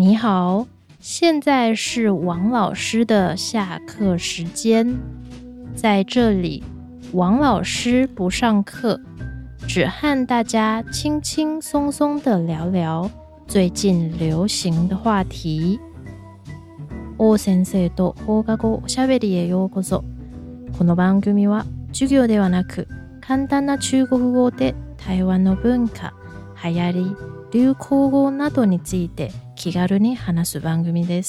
你好，现在是王老师的下课时间。在这里，王老师不上课，只和大家轻轻松松的聊聊最近流行的话题。王先生と放課後おしゃべりへようこそ。この番組は授業ではなく、簡単な中国語で台湾の文化、流行り、流行語などについて気軽に話す番組です。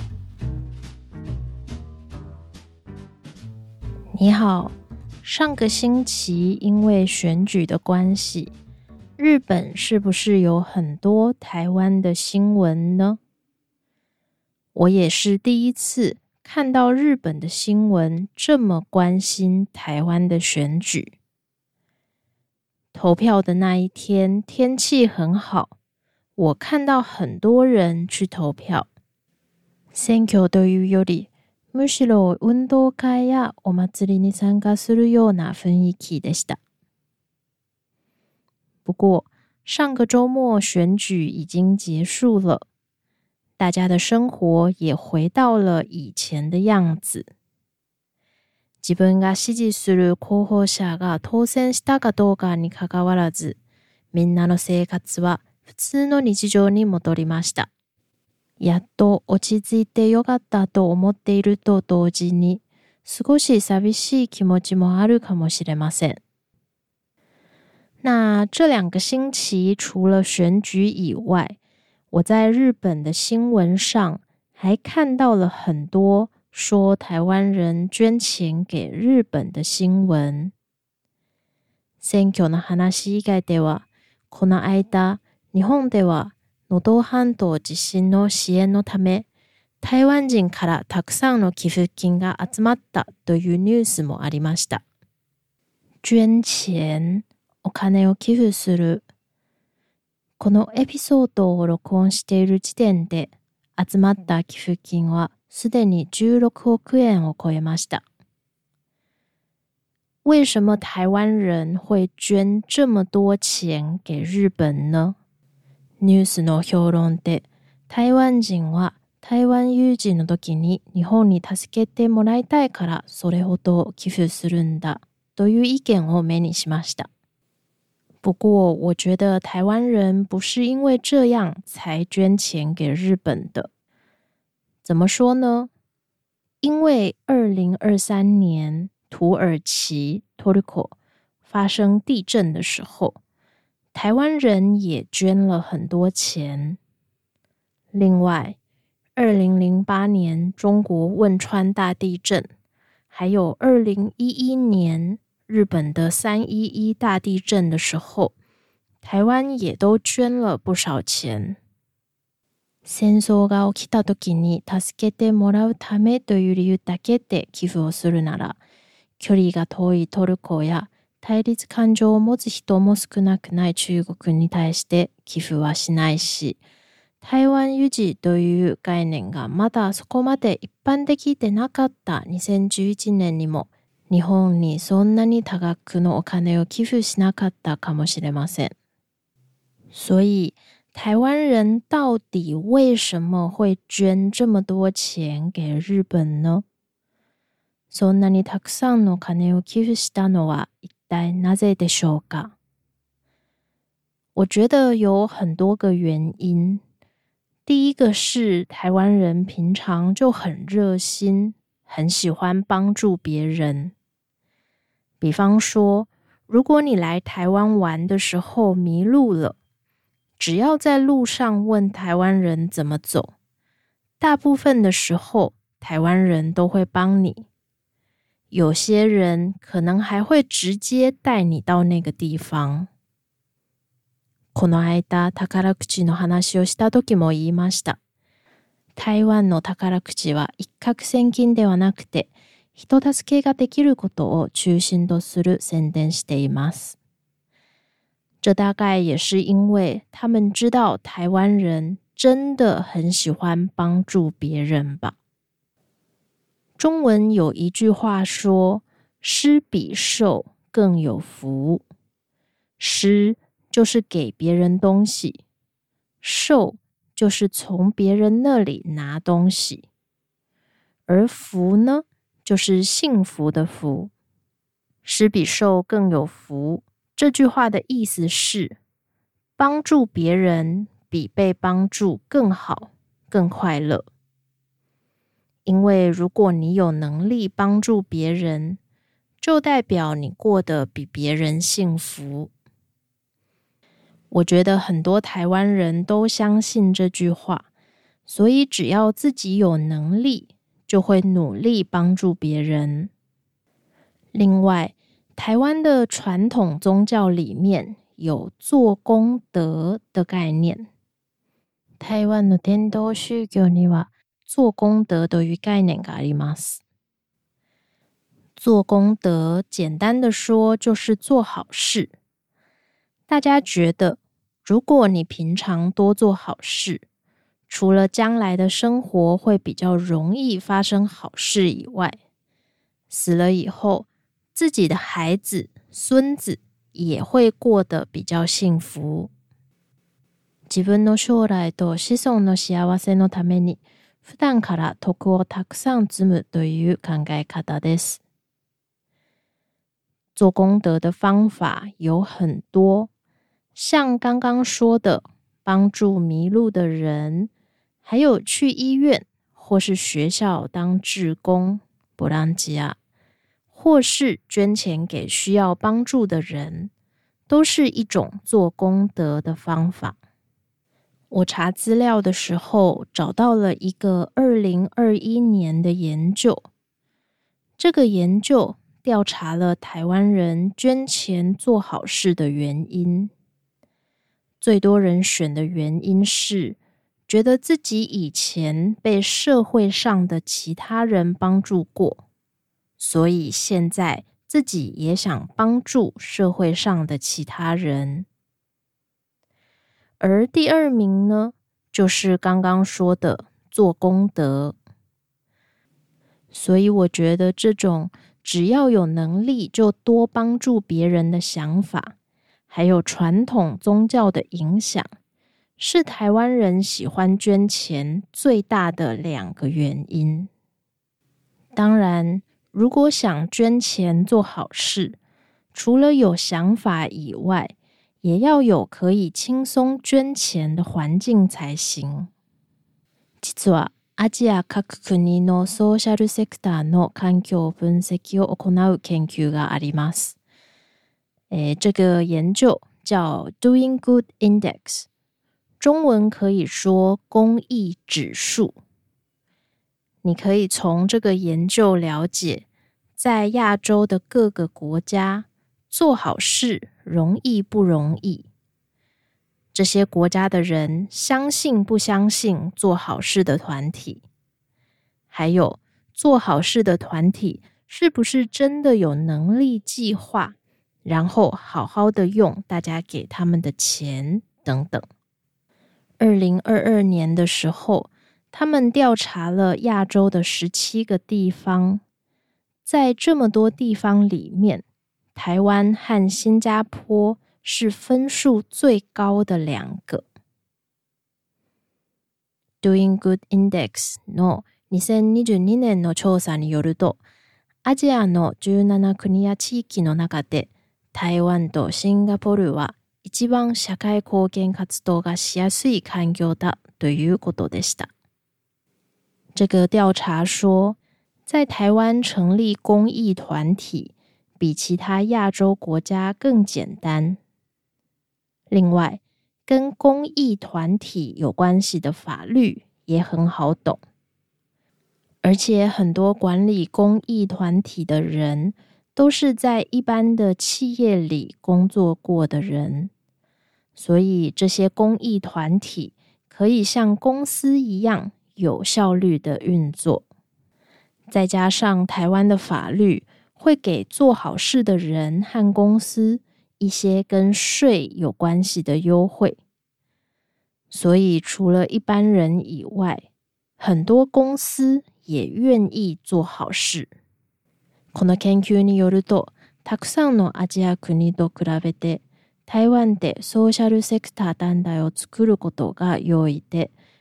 你好，上个星期因为选举的关系，日本是不是有很多台湾的新闻呢？我也是第一次看到日本的新闻这么关心台湾的选举。投票的那一天天气很好，我看到很多人去投票。選挙というより、むしろ運動会やお祭りに参加するような雰囲気でした。不過、上個周末選舉已經結束了，大家的生活也回到了以前的樣子。自分が支持する候補者が当選したかどうかにかかわらず、みんなの生活は普通の日常に戻りました。やっと落ち着いてよかったと思っていると同時に、少し寂しい気持ちもあるかもしれません。那这2个星期除了选举以外，我在日本的新闻上还看到了很多说台湾人捐钱给日本的新聞。選挙の話以外では、この間、日本では能登半島地震の支援のため、台湾人からたくさんの寄付金が集まったというニュースもありました。捐錢、お金を寄付する。このエピソードを録音している時点で、集まった寄付金はすでに16億円を超えました。为什么台湾人会捐这么多钱给日本呢？ニュースの評論で、台湾人は台湾有事の時に日本に助けてもらいたいからそれほど寄付するんだという意見を目にしました。不过我觉得台湾人不是因为这样才捐钱给日本的。怎么说呢？因为2023年土耳其 Turkey 发生地震的时候，台湾人也捐了很多钱。另外2008年中国汶川大地震，还有2011年日本的311大地震的时候，台湾也都捐了不少钱。戦争が起きた時に助けてもらうためという理由だけで寄付をするなら、距離が遠いトルコや対立感情を持つ人も少なくない中国に対して寄付はしないし、台湾有事という概念がまだそこまで一般的でなかった2011年にも、日本にそんなに多額のお金を寄付しなかったかもしれません。所以台湾人到底为什么会捐这么多钱给日本呢？そんなにたくさんの金を寄付したのは一体なぜでしょうか？我觉得有很多个原因。第一个是台湾人平常就很热心，很喜欢帮助别人。比方说，如果你来台湾玩的时候迷路了，只要在路上问台湾人怎么走，大部分的时候台湾人都会帮你。有些人可能还会直接带你到那个地方。この間、宝くじの話をした時も言いました。台湾の宝くじは一攫千金ではなくて、人助けができることを中心とする宣伝しています。这大概也是因为他们知道台湾人真的很喜欢帮助别人吧。中文有一句话说，施比受更有福。施就是给别人东西，受就是从别人那里拿东西，而福呢，就是幸福的福。施比受更有福，这句话的意思是，帮助别人比被帮助更好、更快乐。因为如果你有能力帮助别人，就代表你过得比别人幸福。我觉得很多台湾人都相信这句话，所以只要自己有能力，就会努力帮助别人。另外，台湾的传统宗教里面有做功德的概念。台湾の伝統宗教には做功德という概念があります。做功德，简单的说就是做好事。大家觉得，如果你平常多做好事，除了将来的生活会比较容易发生好事以外，死了以后，自己的孩子、孙子也会过得比较幸福。自分の将来と子孫の幸せのために、普段から徳をたくさん積むという考え方です。做功德的方法有很多，像刚刚说的，帮助迷路的人，还有去医院或是学校当志工，ボランティア，或是捐钱给需要帮助的人，都是一种做功德的方法。我查资料的时候，找到了一个2021年的研究。这个研究调查了台湾人捐钱做好事的原因。最多人选的原因是，觉得自己以前被社会上的其他人帮助过，所以现在自己也想帮助社会上的其他人。而第二名呢，就是刚刚说的做功德。所以我觉得这种只要有能力就多帮助别人的想法，还有传统宗教的影响，是台湾人喜欢捐钱最大的2个原因。当然，如果想捐钱做好事，除了有想法以外，也要有可以轻松捐钱的环境才行。実はアジア各国のソーシャルセクターの環境分析を行う研究があります。这个研究叫 Doing Good Index， 中文可以说公益指数。你可以从这个研究了解，在亚洲的各个国家做好事容易不容易？这些国家的人相信不相信做好事的团体？还有，做好事的团体是不是真的有能力计划，然后好好的用大家给他们的钱等等。2022年的时候，他们调查了亚洲的17个地方，在这么多地方里面，台湾和新加坡是分数最高的2个。Doing Good Index の2022年の調査によると、アジアの17国や地域の中で、台湾とシンガポールは一番社会貢献活動がしやすい環境だということでした。这个调查说，在台湾成立公益团体比其他亚洲国家更简单。另外，跟公益团体有关系的法律也很好懂，而且很多管理公益团体的人都是在一般的企业里工作过的人，所以这些公益团体可以像公司一样有效率的运作。再加上台湾的法律会给做好事的人和公司一些跟税有关系的优惠，所以除了一般人以外，很多公司也愿意做好事。この研究によると、たくさんのアジア国と比べて、台湾でソーシャルセクター団体を作ることが容易で、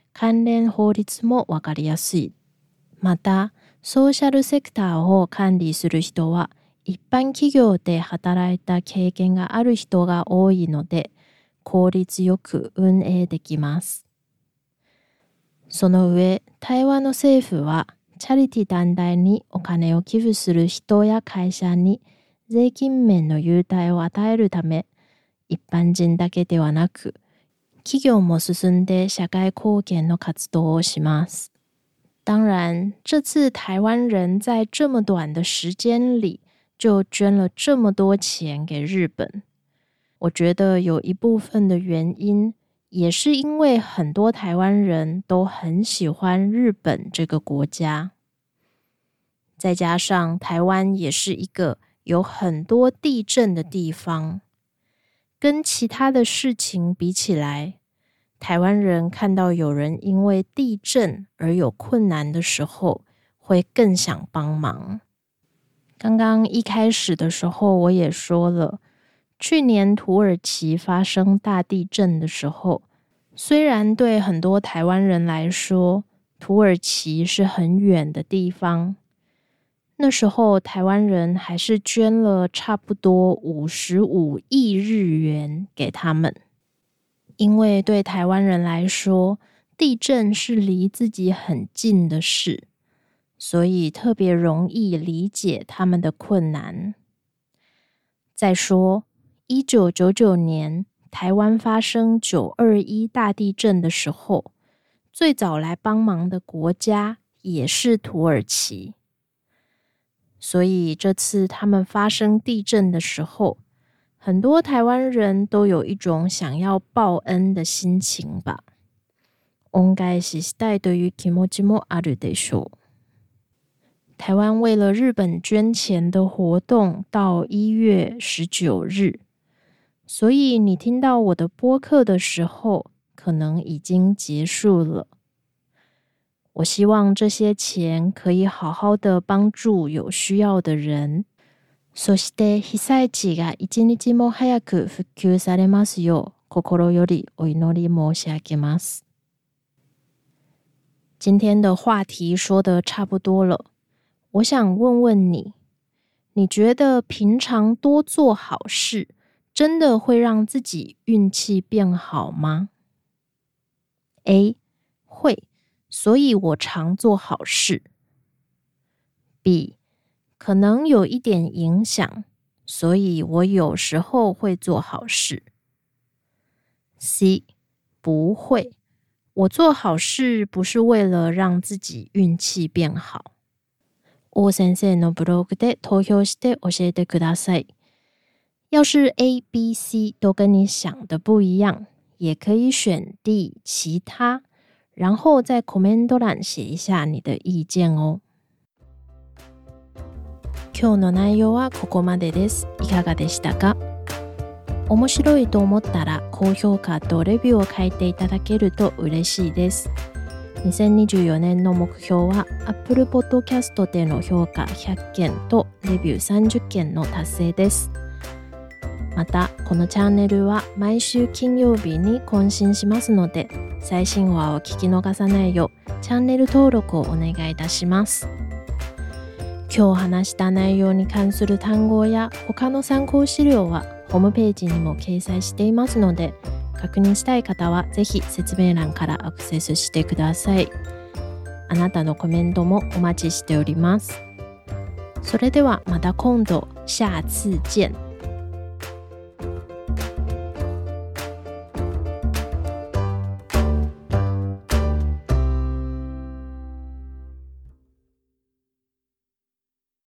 関連法律もわかりやすい。また、ソーシャルセクターを管理する人は、一般企業で働いた経験がある人が多いので、効率よく運営できます。その上、台湾の政府は、チャリティ団体にお金を寄付する人や会社に税金面の優待を与えるため、一般人だけではなく、企業も進んで社会貢献の活動をします。当然，这次台湾人在这么短的时间里就捐了这么多钱给日本。我觉得有一部分的原因，也是因为很多台湾人都很喜欢日本这个国家。再加上台湾也是一个有很多地震的地方，跟其他的事情比起来，台湾人看到有人因为地震而有困难的时候，会更想帮忙。刚刚一开始的时候我也说了，去年土耳其发生大地震的时候，虽然对很多台湾人来说，土耳其是很远的地方，那时候台湾人还是捐了差不多55亿日元给他们。因为对台湾人来说，地震是离自己很近的事，所以特别容易理解他们的困难。再说，1999年台湾发生921大地震的时候，最早来帮忙的国家也是土耳其。所以这次他们发生地震的时候，很多台湾人都有一种想要报恩的心情吧。恩返ししたいという気持ちもあるでしょう。台湾为了日本捐钱的活动到1月19日，所以你听到我的播客的时候，可能已经结束了。我希望这些钱可以好好的帮助有需要的人。そして被災地が一日も早く復旧されますよう心よりお祈り申し上げます。今天的话题说得差不多了，我想问问你，你觉得平常多做好事，真的会让自己运气变好吗？ A. 会，所以我常做好事。 B. 可能有一点影响，所以我有时候会做好事。 C. 不会，我做好事不是为了让自己运气变好。王先生のブログで投票して教えてください。要是 A、B、C 都跟你想的不一样，也可以选 D 其他，然后在コメント欄写一下你的意见哦。今日の内容はここまでです。いかがでしたか？面白いと思ったら高評価とレビューを書いていただけると嬉しいです。2024年の目標は Apple Podcast での評価100件とレビュー30件の達成です。また、このチャンネルは毎週金曜日に更新しますので、最新話を聞き逃さないようチャンネル登録をお願いいたします。今日話した内容に関する単語や他の参考資料はホームページにも掲載していますので、確認したい方はぜひ説明欄からアクセスしてください。あなたのコメントもお待ちしております。それではまた今度、下次見。